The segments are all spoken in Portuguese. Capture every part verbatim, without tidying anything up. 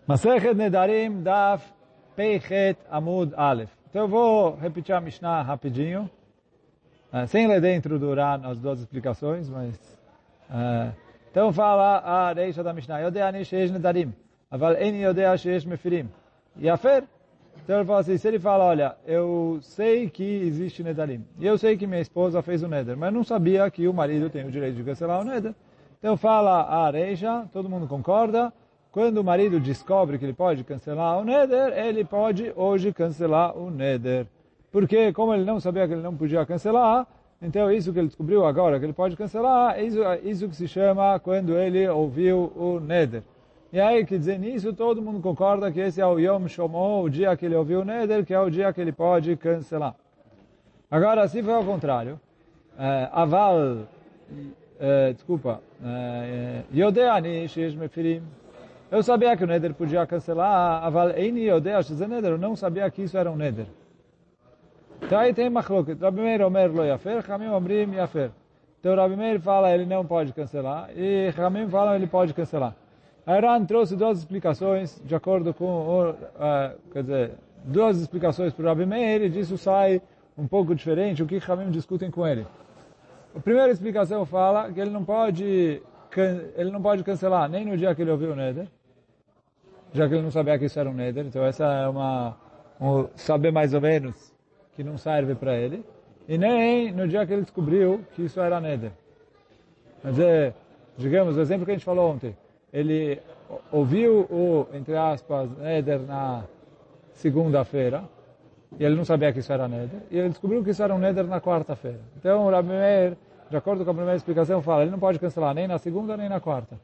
Masechet Nedarim Daf Peichet Amud Aleph. Então eu vou repetir a Mishnah rapidinho, uh, sem ler dentro do Uran as duas explicações, mas... Uh, então fala a reisha da Mishnah. Yodea ani sheish Nedarim, aval eni yodea sheish mefirim. Yafer. Então ele fala assim, se ele fala, olha, eu sei que existe Nedarim, e eu sei que minha esposa fez o Neder, mas não sabia que o marido tem o direito de cancelar o Neder. Então fala a reisha, todo mundo concorda. Quando o marido descobre que ele pode cancelar o Neder, ele pode hoje cancelar o Neder. Porque, como ele não sabia que ele não podia cancelar, então isso que ele descobriu agora que ele pode cancelar, isso, isso que se chama quando ele ouviu o Neder. E aí, quer dizer, nisso todo mundo concorda que esse é o Yom Shomo, o dia que ele ouviu o Neder, que é o dia que ele pode cancelar. Agora, se for ao contrário, uh, Aval, uh, desculpa, Yodeani Sheish Mefirim, eu sabia que o Neder podia cancelar, aval eini yodea sheze Neder, eu não sabia que isso era um Neder. Então aí tem machloket. Rabi Meir omer lo yafer, Chamim omrim yafer. Então Rabi Meir fala ele não pode cancelar, e Chamim fala ele pode cancelar. A Ran trouxe duas explicações, de acordo com, o, uh, quer dizer, duas explicações para o Rabi Meir, e disso sai um pouco diferente o que Chamim discutem com ele. A primeira explicação fala que ele não pode... ele não pode cancelar nem no dia que ele ouviu o Neder, já que ele não sabia que isso era um Neder, então essa é uma, um saber mais ou menos que não serve para ele, e nem no dia que ele descobriu que isso era Neder. Quer dizer, digamos, o exemplo que a gente falou ontem, ele ouviu o, entre aspas, Neder na segunda-feira, e ele não sabia que isso era Neder, e ele descobriu que isso era um Neder na quarta-feira. Então o Rabi Meir, de acordo com a primeira explicação, fala, ele não pode cancelar nem na segunda nem na quarta.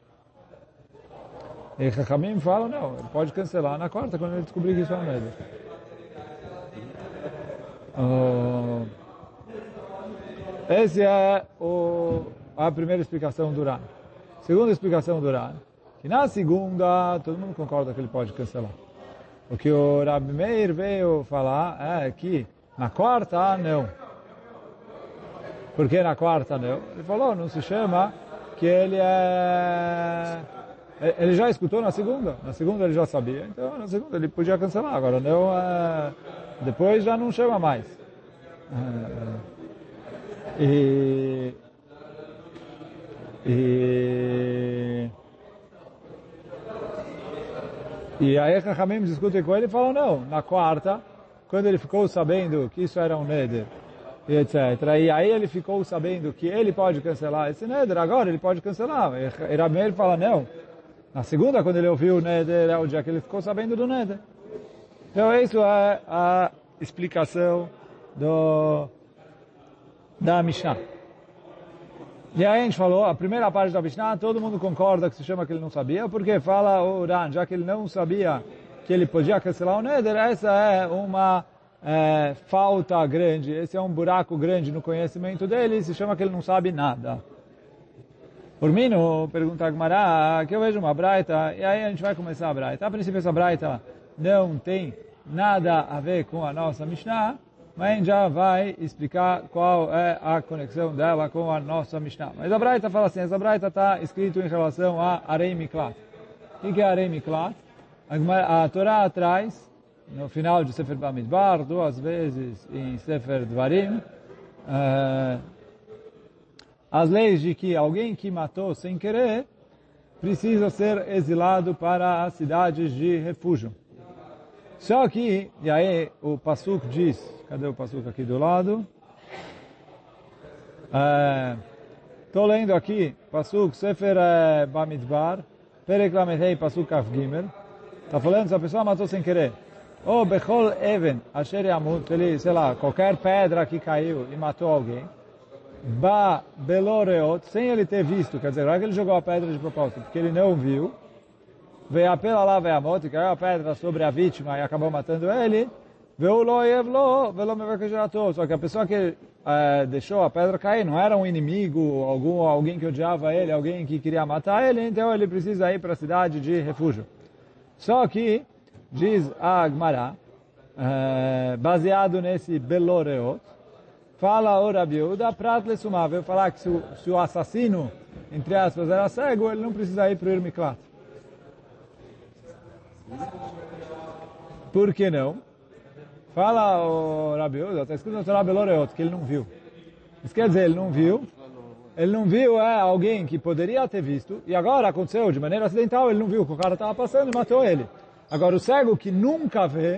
E Chachamim fala, não, ele pode cancelar na quarta, quando ele descobrir que isso é um Neder. Uh, essa é o, a primeira explicação do Ran. Segunda explicação do Ran, que na segunda, todo mundo concorda que ele pode cancelar. O que o Rabi Meir veio falar é que na quarta, não. Por que na quarta não? Ele falou, não se chama que ele é... Ele já escutou na segunda. Na segunda ele já sabia. Então na segunda ele podia cancelar. Agora não... É... Depois já não chama mais. É... E... E... E aí Chachamim discutem com ele e falam, não, na quarta, quando ele ficou sabendo que isso era um Neder, e etcétera. E aí ele ficou sabendo que ele pode cancelar esse Neder, agora ele pode cancelar. E Rabi Meir fala, não. Na segunda, quando ele ouviu o Neder, é o dia que ele ficou sabendo do Neder. Então, isso é a explicação do, da Mishnah. E aí a gente falou, a primeira parte da Mishnah, todo mundo concorda que se chama que ele não sabia, porque fala o Ran, já que ele não sabia que ele podia cancelar o Neder, essa é uma... É, falta grande, esse é um buraco grande no conhecimento dele, se chama que ele não sabe nada. Por mim, no pergunta a Gmará, que eu vejo uma braita, e aí a gente vai começar a braita. A princípio essa braita não tem nada a ver com a nossa Mishnah, mas a gente já vai explicar qual é a conexão dela com a nossa Mishnah. Mas a braita fala assim, essa braita está escrito em relação a Arei Miklat. O que é Arei Miklat? A, a Torá traz no final de Sefer Bamidbar, duas vezes em Sefer Dvarim, uh, as leis de que alguém que matou sem querer precisa ser exilado para as cidades de refúgio. Só que, e aí o Pasuk diz, cadê o Pasuk aqui do lado? Estou uh, lendo aqui, Pasuk Sefer uh, Bamidbar, Perek Lamedei Pasuk Kaf Gimel, está falando se a pessoa matou sem querer. Ou Bechol Even, Asher Yamut, ele, sei lá, qualquer pedra que caiu e matou alguém, Ba Beloreot, sem ele ter visto, quer dizer, não é que ele jogou a pedra de propósito, porque ele não viu, veio apela lá, veio a moto, caiu a pedra sobre a vítima e acabou matando ele, veio lo Yevlo, velo Mevakejerato, só que a pessoa que eh, deixou a pedra cair não era um inimigo, algum, alguém que odiava ele, alguém que queria matar ele, então ele precisa ir para a cidade de refúgio. Só que diz a Gmará, uh, baseado nesse Beloreot, fala o Rabi Yehuda, prat lesumá, veio falar que se o, se o assassino, entre aspas, era cego, ele não precisa ir para o Irmiklat. Por que não? Fala o Rabi Yehuda, está escrito no Torah Beloreot, que ele não viu. Isso quer dizer, ele não viu. Ele não viu é alguém que poderia ter visto, e agora aconteceu de maneira acidental, ele não viu, que o cara estava passando e matou ele. Agora, o cego que nunca vê,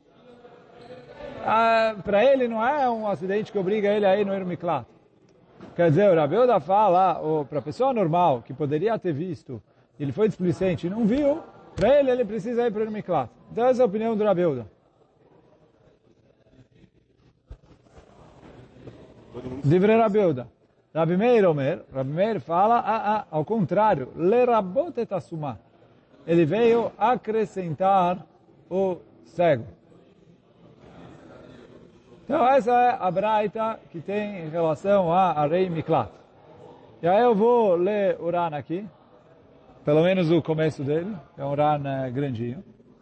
ah, para ele não é um acidente que obriga ele a ir no Miklat. Quer dizer, o Rabi Yehuda fala, para a pessoa normal, que poderia ter visto, ele foi displicente e não viu, para ele, ele precisa ir para o Miklat. Então, essa é a opinião do Rabi Yehuda. Divrei Rabi Yehuda. Rabi Meir Omer, Rabi Meir fala, ah, ah, ao contrário, lerabot et asumah. Ele veio acrescentar o cego. Então essa é a braita que tem em relação a Arei Miklat. E aí eu vou ler o Ran aqui, pelo menos o começo dele, é um Ran uh, grandinho.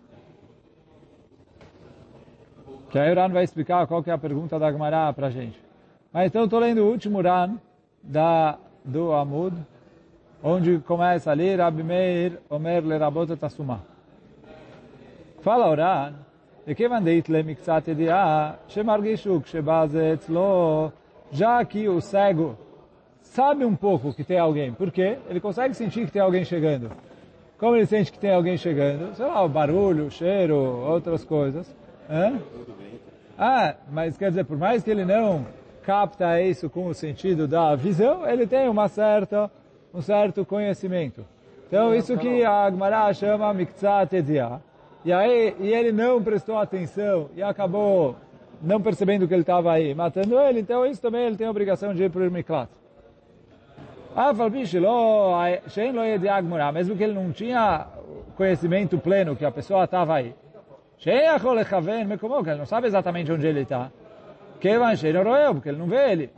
Que aí o Ran vai explicar qual que é a pergunta da Gemara para a gente. Mas então estou lendo o último Ran da, do Amud, onde começa ali, Rabi Meir Omer lerabot et asumah. Fala o Ran, וכיוון דאיתלה מקצת ידיעה, שמרגישו כשבא זה אצלו, já que o cego sabe um pouco que tem alguém. Por quê? Ele consegue sentir que tem alguém chegando. Como ele sente que tem alguém chegando? Sei lá, o barulho, o cheiro, outras coisas. Hã? Ah, mas quer dizer, por mais que ele não capta isso com o sentido da visão, ele tem uma certa, um certo conhecimento. Então, isso que a Gemara chama Miktzat Yediah. E aí, e ele não prestou atenção e acabou não percebendo que ele estava aí, matando ele, então isso também ele tem a obrigação de ir para o Miklat. Ah, mesmo que ele não tinha conhecimento pleno que a pessoa estava aí. Que ele não sabe exatamente onde ele está. Porque ele não vê ele.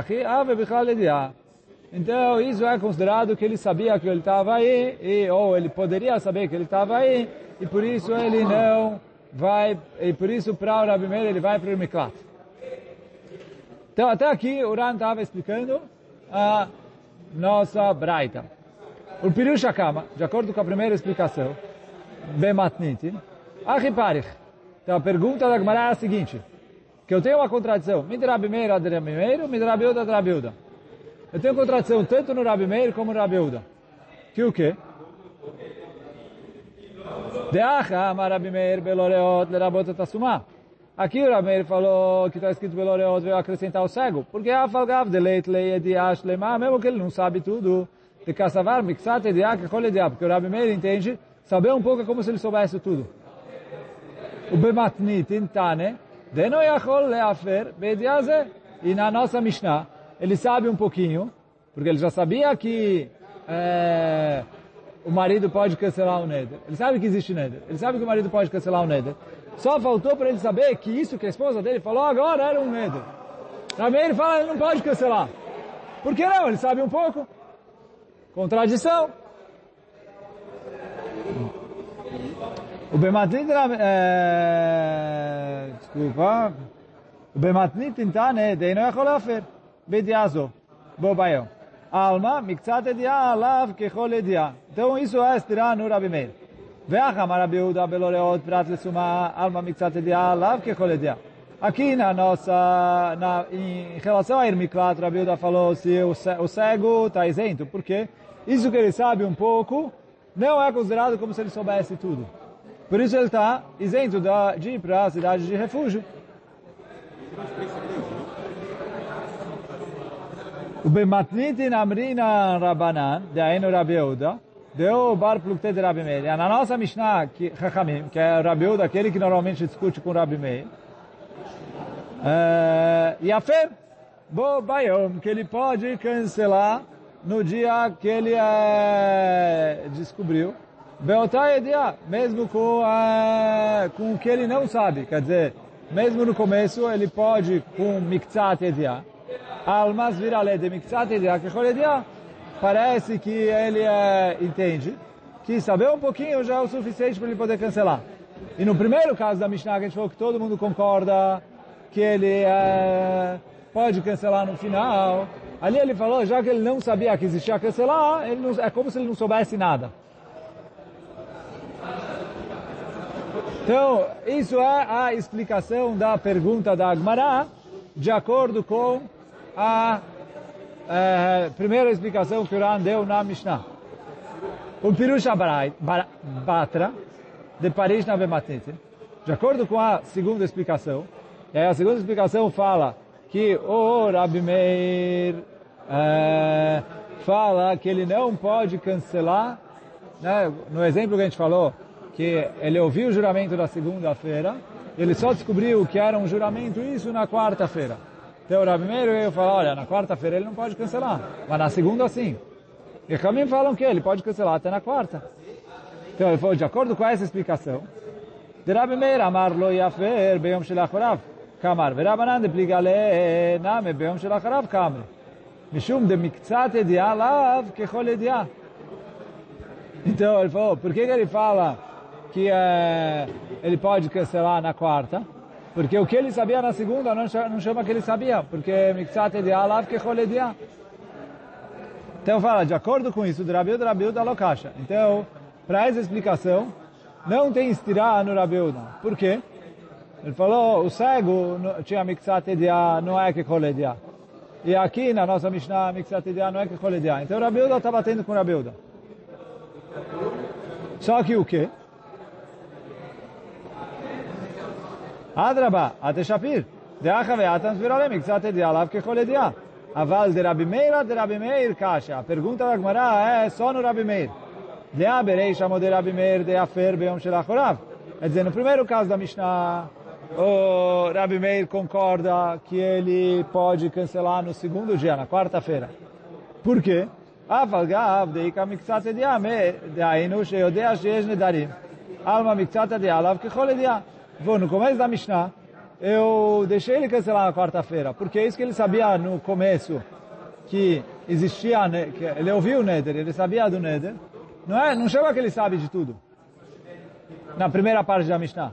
Então, isso é considerado que ele sabia que ele estava aí, e, ou ele poderia saber que ele estava aí, e por isso ele não vai, e por isso para o Rabi Meir ele vai para o Miklat. Então, até aqui o Ran estava explicando a nossa braita. O Pirush Hakama, de acordo com a primeira explicação, Bematnitin, Achiparich. Então, a pergunta da Gemara é a seguinte, que eu tenho uma contradição, Midrabi Meir ad Rabi Meir, Midrabi Yehuda ad Rabi Yehuda. Eu tenho contradição tanto no Rabi Meir como no Rabi Yehuda. Que o quê? Deacha amar Rabi Meir beloreot lerabot et asumah. Aqui o Rabi Meir falou que está escrito beloreot, veio acrescentar o cego. Porque a falgav de leit leiediash lema, mesmo que ele não sabe tudo, de kassavar mixat ediach kol ediach. Porque o Rabi Meir entende, saber um pouco é como se ele soubesse tudo. O bematnit intane, deno yachol leafer beediaze. E na nossa Mishnah, ele sabe um pouquinho, porque ele já sabia que é, o marido pode cancelar o neder. Ele sabe que existe neder. Ele sabe que o marido pode cancelar o neder. Só faltou para ele saber que isso que a esposa dele falou agora era um neder. Também ele fala que ele não pode cancelar. Por que não? Ele sabe um pouco. Contradição. O Bematnit... É, desculpa. O Bematnit intane deino yachol lafer. Bediazo, bobaio. Alma, miktzat edia, alav, kechol edia. Então isso é estirar no Rabi Meir. Ve'acham Rabi Yehuda beloreot prat lesuma, alma, miktzat edia, alav, kechol edia. Aqui na nossa, na, em relação a Ir Miklat, Rabi Yehuda falou se o, o cego está isento. Por quê? Isso que ele sabe um pouco, não é considerado como se ele soubesse tudo. Por isso ele está isento de ir para a cidade de refúgio. O Bematnitin Amrina Rabanan, de Ainu Rabi Yehuda, deu o bar plukte de Rabi Meir. Na nossa Mishnah, que, Chachamim, que é Rabi Yehuda, aquele que normalmente discute com Rabi Meir, Yafem, Bo Bayom, que ele pode cancelar no dia que ele é, descobriu, Beotai Edia, mesmo com, é, com o que ele não sabe, quer dizer, mesmo no começo ele pode com Miktzat Edia, Almas virale de Miktzat Edia, que Edia, parece que ele é, entende que saber um pouquinho já é o suficiente para ele poder cancelar. E no primeiro caso da Mishnah, que a gente falou que todo mundo concorda que ele é, pode cancelar no final, ali ele falou, já que ele não sabia que existia cancelar, ele não, é como se ele não soubesse nada. Então, isso é a explicação da pergunta da Agmará, de acordo com a é, primeira explicação que o Ran deu na Mishnah. O Pirush Batra, de Parishna Bematete, de acordo com a segunda explicação, e aí a segunda explicação fala que o Rabi Meir é, fala que ele não pode cancelar, né, no exemplo que a gente falou, que ele ouviu o juramento da segunda-feira, ele só descobriu que era um juramento, isso na quarta-feira. Então o Rabi Meir veio falar, olha, na quarta-feira ele não pode cancelar, mas na segunda sim. E a Kamim falam que ele pode cancelar até na quarta. Então ele falou, de acordo com essa explicação, de Rabi Meir, amar lo yafer beyom shel achorav, kamar, verabanan de pligale name beyom shel achorav kamre. Mishum de miktzat edia lav kechol edia. Então ele falou, por que que ele fala que é, ele pode cancelar na quarta? Porque o que ele sabia na segunda não chama, não chama que ele sabia, porque miktzat edia lav kechol edia. Então fala, de acordo com isso, do Rabiuda, Rabiuda Lokasha. Então, para essa explicação, não tem estirá no Rabiuda. Por quê? Ele falou, o cego tinha miktzat edia, não é que koledia. E aqui na nossa Mishnah, miktzat edia não é que koledia. Então o Rabiuda está batendo com o Rabiuda. Só que o quê? Adraba, ate shapir. Deacha ve'atan svirale miktzat edia lav que koledia. Aval de Rabi Meir, de Rabi Meir, Kasha. A pergunta da Gemara é só no Rabi Meir. De Aberei chamou de Rabi Meir, de Afer, Beom Shel Achorav. Quer dizer, no primeiro caso da Mishnah, o Rabi Meir concorda que ele pode cancelar no segundo dia, na quarta-feira. Por quê? Aval Gav, de Ika Miktzat Ediame, de Ainu, Sheodea, Sheesh Nedarim. Alma Miktzat Edialav, Kechol Edia. Vou no começo da Mishnah, eu deixei ele cancelar na quarta-feira, porque é isso que ele sabia no começo, que existia, que ele ouviu o Neder, ele sabia do Neder. Não é? Não chama que ele sabe de tudo. Na primeira parte da Mishnah.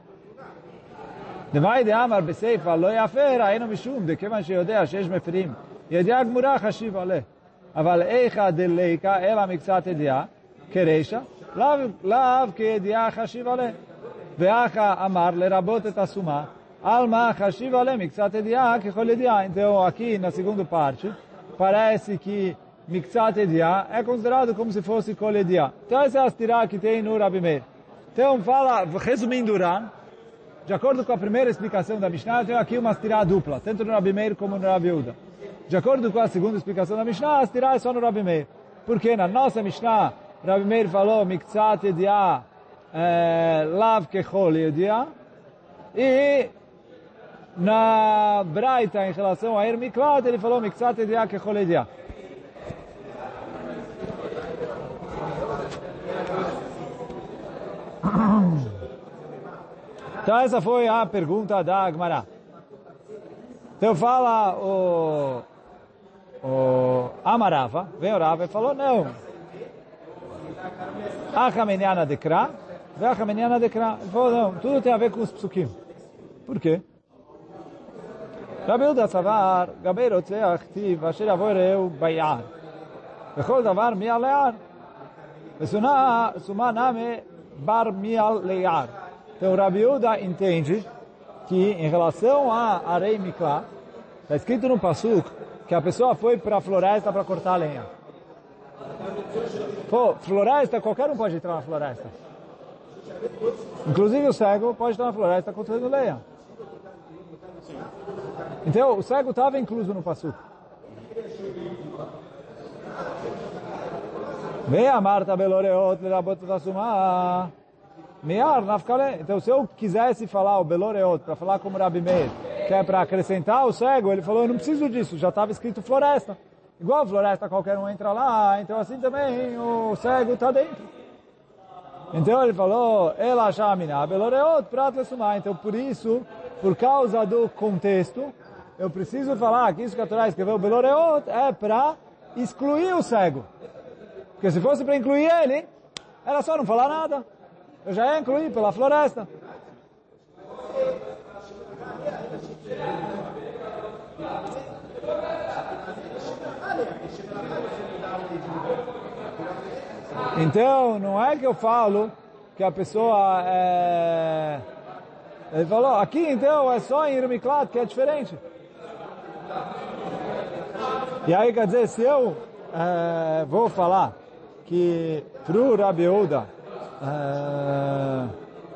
Demai de Amar Beseifa, lo yafer, aino mishum, de kevan sheyodea, shesh meferim, yedea gmura chashiv aleh. Aval eicha deleika, ela miktzat edia, kereisha, lav ke yedea chashiv aleh. Veacha amar lerabot et asuma, alma chashiv aleh miktzat edia, kechol edia. Então, aqui na segunda parte, parece que miktzat edia é considerado como se fosse kol edia. Então, essa é a astirá que tem no Rabi Meir. Então, fala, resumindo o Ran, de acordo com a primeira explicação da Mishnah, eu tenho aqui uma astirá dupla, tanto no Rabi Meir como no Rabi Uda. De acordo com a segunda explicação da Mishnah, a astirá é só no Rabi Meir. Porque na nossa Mishnah, Rabi Meir falou miktzat edia lav kechol edia, e na Braita, em relação a Ermiklat, ele falou miktzat edia kechol edia. Então essa foi a pergunta da Agmará. Então fala o, o Amarava, vem o Rava e falou, não. Achameniana dekra, ve'achameniana dekra. Ele falou, não, tudo tem a ver com os psukim. Por quê? Rabi Uda Savar, Gabei Rotzeach Tiv, Asher Yavo Reu Bayar. Vechol Davar Mial Lear. Vesuma Name Bar Mial Lear. Então, o Rabi Uda entende que, em relação a Arei Mikla, está escrito no Pasuk que a pessoa foi para a floresta para cortar a lenha. Pô, floresta, qualquer um pode entrar na floresta. Inclusive o cego pode estar na floresta cortando lenha. Então, o cego estava incluso no Pasuk. Vem a Marta Beloreot, Lerabot Tasumah. Mear, nafkale. Então, se eu quisesse falar o Beloreot, para falar como Rabi Meir, que é para acrescentar o cego, ele falou, eu não preciso disso, já estava escrito floresta. Igual floresta, qualquer um entra lá, então assim também o cego está dentro. Então ele falou, Ela Shamina, Beloreot, Prat Lesumah. Então, por isso, por causa do contexto, eu preciso falar que isso que a Torá escreveu, Beloreot, é para excluir o cego. Porque se fosse para incluir ele, era só não falar nada. Eu já ia incluir pela floresta. Então, não é que eu falo que a pessoa é... Ele falou, aqui então é só em Ir Miklat que é diferente. E aí quer dizer, se eu é, vou falar que pro Rabi Yehuda é,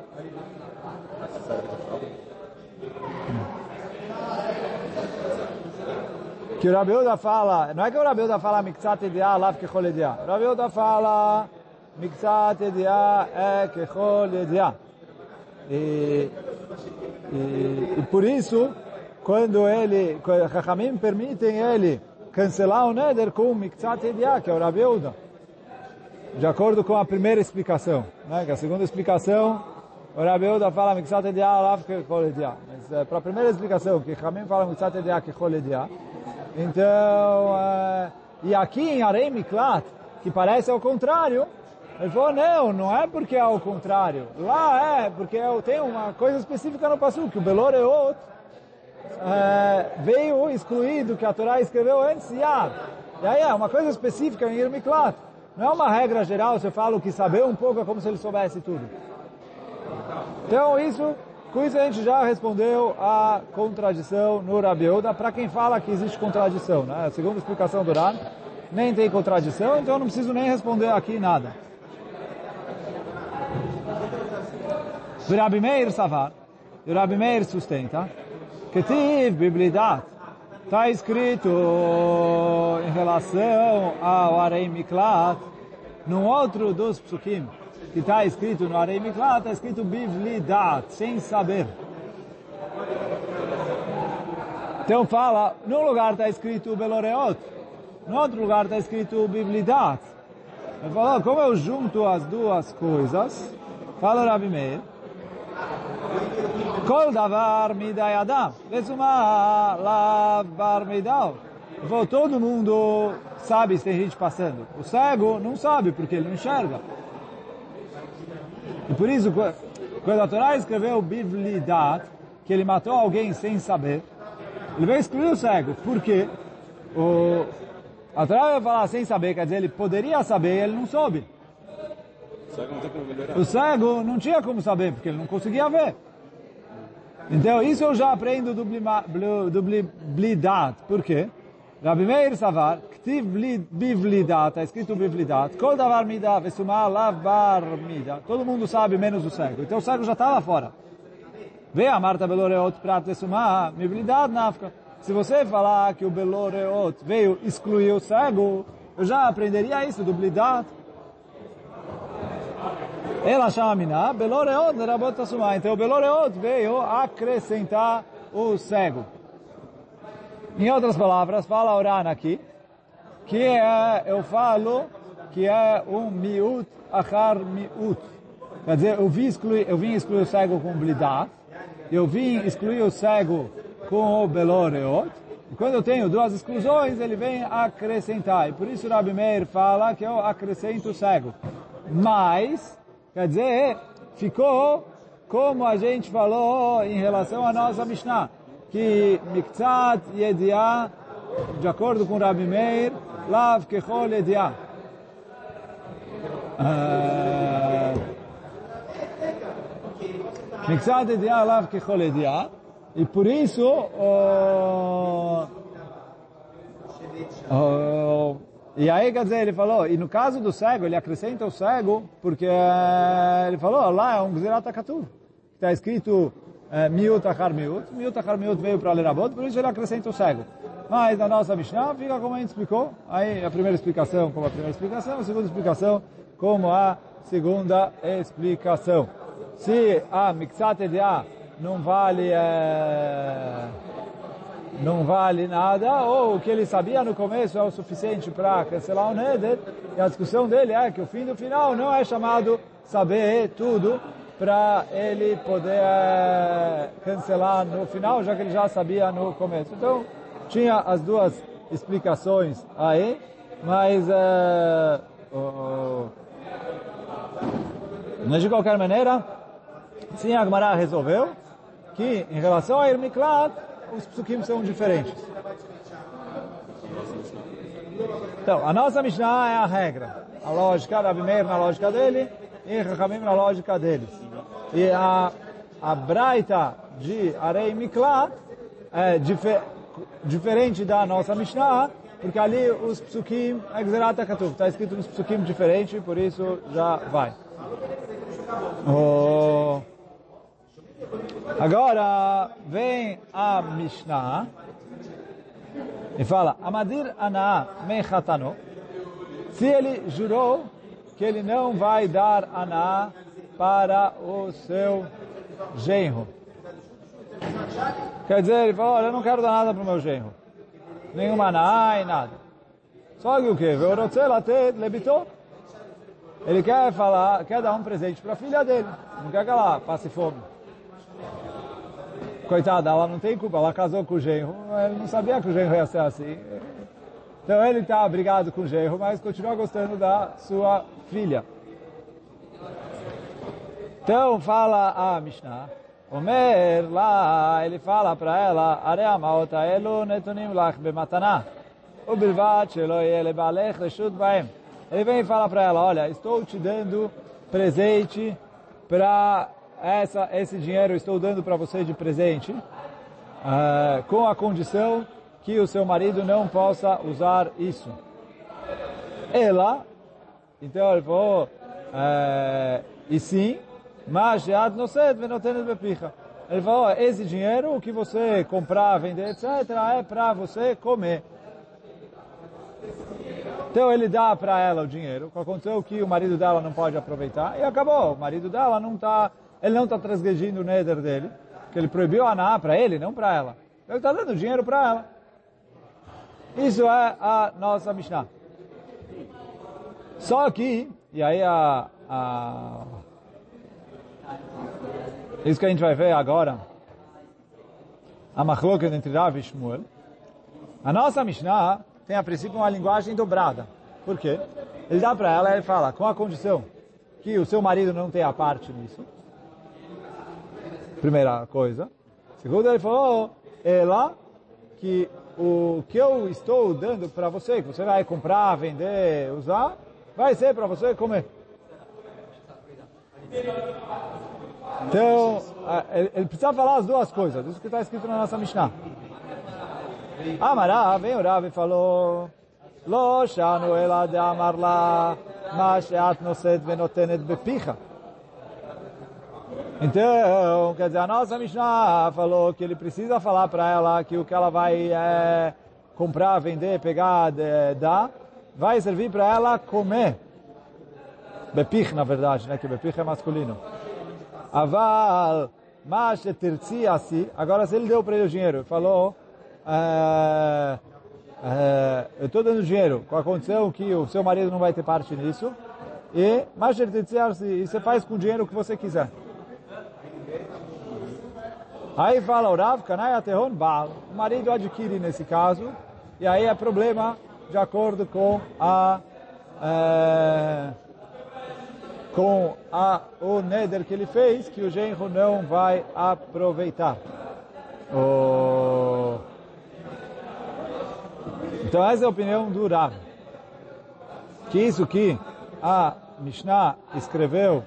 que o Rabi Yehuda fala, não é que o Rabi Yehuda fala Miktzat Ediah Lav Kechol Ediah. O Rabi Yehuda fala Miktzat Ediah é Kechol Ediah. E, e, e por isso, quando ele, quando Chachamim permitem ele cancelar o Neder com Miktzat Ediah, que é o Rabi Yehuda, de acordo com a primeira explicação, né? Que a segunda explicação, o Rabi Yehuda fala Miktzat Ediah Lav Kechol Ediah. Mas é, para a primeira explicação, que Chachamim fala Miktzat Ediah Kechol Ediah, então, uh, e aqui em Arei Miklat, que parece ao contrário, ele falou, não, não é porque é ao contrário. Lá é, porque tem uma coisa específica no Pasuk, que o Beloreot uh, veio excluído, que a Torá escreveu antes, Yad. E aí é uma coisa específica em Ir Miklat. Não é uma regra geral, você fala o que saber um pouco, é como se ele soubesse tudo. Então, isso... Com isso a gente já respondeu a contradição no Rabi Yehuda, para quem fala que existe contradição, né? A segunda explicação do Ran, nem tem contradição, então eu não preciso nem responder aqui nada. O Rabi Meir Savar, o Rabi Meir sustenta, que tiv biblidat, está escrito em relação ao Arei Miklat, num outro dos psukim, que está escrito no Arei Miklat, está escrito Bivlidat, sem saber. Então fala, num lugar está escrito Beloreot, no outro lugar está escrito Bivlidat. Ele falou, como eu junto as duas coisas, fala o Rabi Meir, Kol davar midai adam, lesuma lav bar midau. Todo mundo sabe se tem gente passando. O cego não sabe, porque ele não enxerga. E por isso, quando a Torá escreveu Bivlidat, que ele matou alguém sem saber, ele veio excluir o cego. Por quê? O, a Torá vai falar sem saber, quer dizer, ele poderia saber e ele não soube. O cego não tem como melhorar. O cego não tinha como saber, porque ele não conseguia ver. Então, isso eu já aprendo do, blima, do Bivlidat. Por quê? Rabi Meir Savar, Ktiv Bivlidat, está escrito Bivlidat, Kol davar mida, vesumah lav bar mida. Todo mundo sabe, menos o cego. Então o cego já está lá fora. Vê a Marta Beloreot prat vesumah, Bivlidat nafka. Se você falar que o Beloreot veio excluir o cego, eu já aprenderia isso do Bivlidat. Ela chama mina, Beloreot nerabot tasumah. Então o Beloreot veio acrescentar o cego. Em outras palavras, fala o Ran aqui, que é, eu falo que é um miut achar miut. Quer dizer, eu vim excluir, eu vim excluir o cego com blidat, eu vim excluir o cego com o beloreot, e quando eu tenho duas exclusões, ele vem acrescentar. E por isso o Rabi Meir fala que eu acrescento o cego. Mas, quer dizer, ficou como a gente falou em relação à nossa Mishnah, que Miktzat Yediah, de acordo com Rabi Meir, Lav Kechol Yediah. Miktzat Yediah, Lav Kechol Yediah. E por isso, oh, oh, e aí quer dizer, ele falou, e no caso do cego, ele acrescenta o cego, porque ele falou, lá é um Gzerat HaKatuv. Está escrito miut achar miut, miut achar miut veio para Lerabot, por isso ele acrescenta o cego. Mas na nossa Mishnah fica como a gente explicou, aí a primeira explicação como a primeira explicação, a segunda explicação como a segunda explicação. Se a Miktzat Yediah não vale, é, não vale nada, ou o que ele sabia no começo é o suficiente para cancelar o Neder, e a discussão dele é que o fim do final não é chamado saber tudo, para ele poder é, cancelar no final, já que ele já sabia no começo. Então, tinha as duas explicações aí, mas é, oh, mas de qualquer maneira, sim, a Gemara resolveu que, em relação a Ir Miklat, os psukim são diferentes. Então, a nossa Mishnah é a regra. A lógica, Rabi Meir na lógica dele, e Chachamim na lógica deles. E a, a Braita de Arei Miklat é difer, diferente da nossa Mishnah, porque ali os psukim é Gzerat HaKatuv. Está escrito nos psukim diferente, por isso já vai. Oh. Agora vem a Mishnah e fala: Amadir Ana Mechatano. Se ele jurou que ele não vai dar Ana para o seu genro. Quer dizer, ele falou: olha, eu não quero dar nada para o meu genro. Nenhuma Ana e nada. Só que o quê? Ele quer falar, quer dar um presente para a filha dele. Não quer que ela passe fome. Coitada, ela não tem culpa, ela casou com o genro, ele não sabia que o genro ia ser assim. Então ele está brigado com o genro, mas continua gostando da sua filha. Então fala a Mishnah, Omer lá, ele fala para ela, Areia maota elo netunim lach bematana, ubilvat shelo yele balech reshut baem. Ele vem e fala para ela, olha, estou te dando presente para essa esse dinheiro, estou dando para você de presente, uh, com a condição que o seu marido não possa usar isso. Ela, então ele falou, uh, e sim, mas ele falou, esse dinheiro, o que você comprar, vender, etcétera, é para você comer. Então ele dá para ela o dinheiro, com a condição que o marido dela não pode aproveitar, e acabou. O marido dela não está, ele não está transgredindo o neder dele, que ele proibiu a Aná para ele, não para ela. Ele está dando dinheiro para ela. Isso é a nossa Mishnah. Só que, e aí a, a isso que a gente vai ver agora, a machloket entre Rav e Shmuel. A nossa Mishnah tem a princípio uma linguagem dobrada. Por quê? Ele dá para ela, ele fala, com a condição que o seu marido não tenha parte nisso. Primeira coisa. Segundo, ele falou, ela, que o que eu estou dando para você, que você vai comprar, vender, usar, vai ser para você comer. Então, ele precisa falar as duas coisas, isso que está escrito na nossa Mishnah. Amará, vem o Rav e falou, Lo shanu ela de amar la, ma sheat noset venotenet bepicha. Então, quer dizer, a nossa Mishnah falou que ele precisa falar para ela que o que ela vai é, comprar, vender, pegar, de, dar, vai servir para ela comer. Bepich, na verdade, né? Que bepich é masculino. Aval, ma shetirtzi asi. Agora, se ele deu para ele o dinheiro, falou, é, é, eu estou dando dinheiro com a condição que o seu marido não vai ter parte nisso, e ma shetirtzi asi, e você faz com o dinheiro o que você quiser. Aí fala o Rav, Kanai Atehon Baal, o marido adquire nesse caso, e aí é problema de acordo com a é, com a, o neder que ele fez, que o genro não vai aproveitar. O... Então essa é a opinião do Rav. Que isso que a Mishnah escreveu,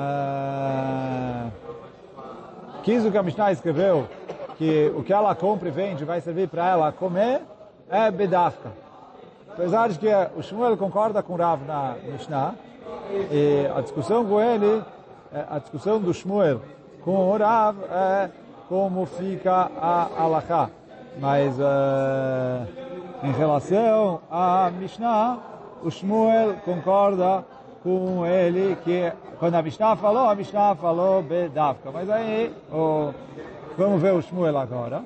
é, que isso que a Mishnah escreveu, que o que ela compra e vende vai servir para ela comer, é bedafka. Apesar de que o Shmuel concorda com o Rav na Mishnah, e a discussão com ele, a discussão do Shmuel com o Rav é como fica a halakha. Mas uh, em relação à Mishnah, o Shmuel concorda com ele que quando a Mishnah falou, a Mishnah falou bedavka. Mas aí, oh, vamos ver o Shmuel agora.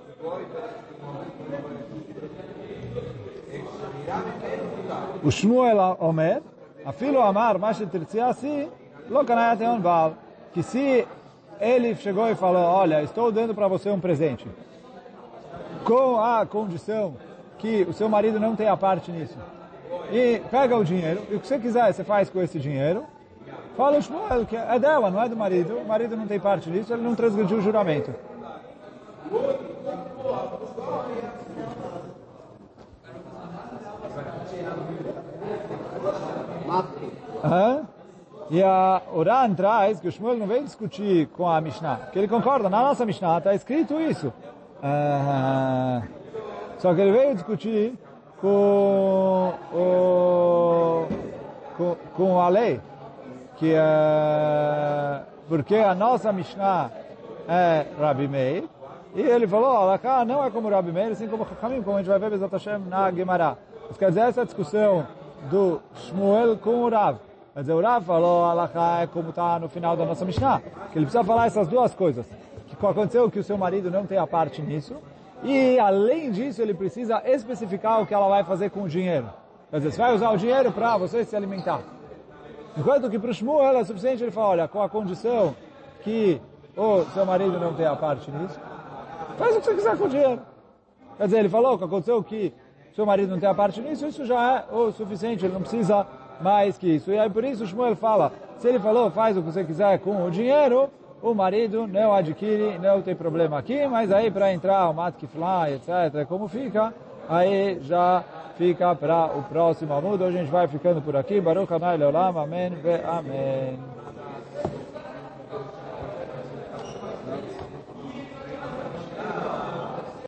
O Shmuel Omer, afilo amar, mas tirtzi assim, lo kanai ateon baal. Que se ele chegou e falou, olha, estou dando para você um presente, com a condição que o seu marido não tenha parte nisso, e pega o dinheiro, e o que você quiser você faz com esse dinheiro, fala o Shmuel, que é dela, não é do marido, o marido não tem parte nisso, ele não transgrediu o juramento. Hã? E a Oran traz que o Shmuel não veio discutir com a Mishnah, porque ele concorda, na nossa Mishnah está escrito isso. Uh, só que ele veio discutir com, o, com, com a lei, que é porque a nossa Mishnah é Rabi Meir, e ele falou, Alaká não é como Rabi Meir, assim como Chachamim, como a gente vai ver Bezat Hashem na Gemara. Isso quer dizer, essa discussão do Shmuel com o Rav. Quer dizer, o Rav falou, Alaká é como está no final da nossa Mishnah, que ele precisa falar essas duas coisas. Que aconteceu que o seu marido não tem a parte nisso, e além disso ele precisa especificar o que ela vai fazer com o dinheiro. Quer dizer, você vai usar o dinheiro para você se alimentar. Enquanto que para o Shmuel é suficiente ele falar, olha, com a condição que o seu marido não tem a parte nisso, faz o que você quiser com o dinheiro. Quer dizer, ele falou que aconteceu que o seu marido não tem a parte nisso, isso já é o suficiente, ele não precisa mais que isso. E aí por isso o Shmuel fala, se ele falou, faz o que você quiser com o dinheiro, o marido não adquire, não tem problema aqui, mas aí para entrar o matkifla, etcétera, como fica, aí já fica para o próximo amudo. Hoje a gente vai ficando por aqui. Baruch Adonai Leolam, amém ve amém.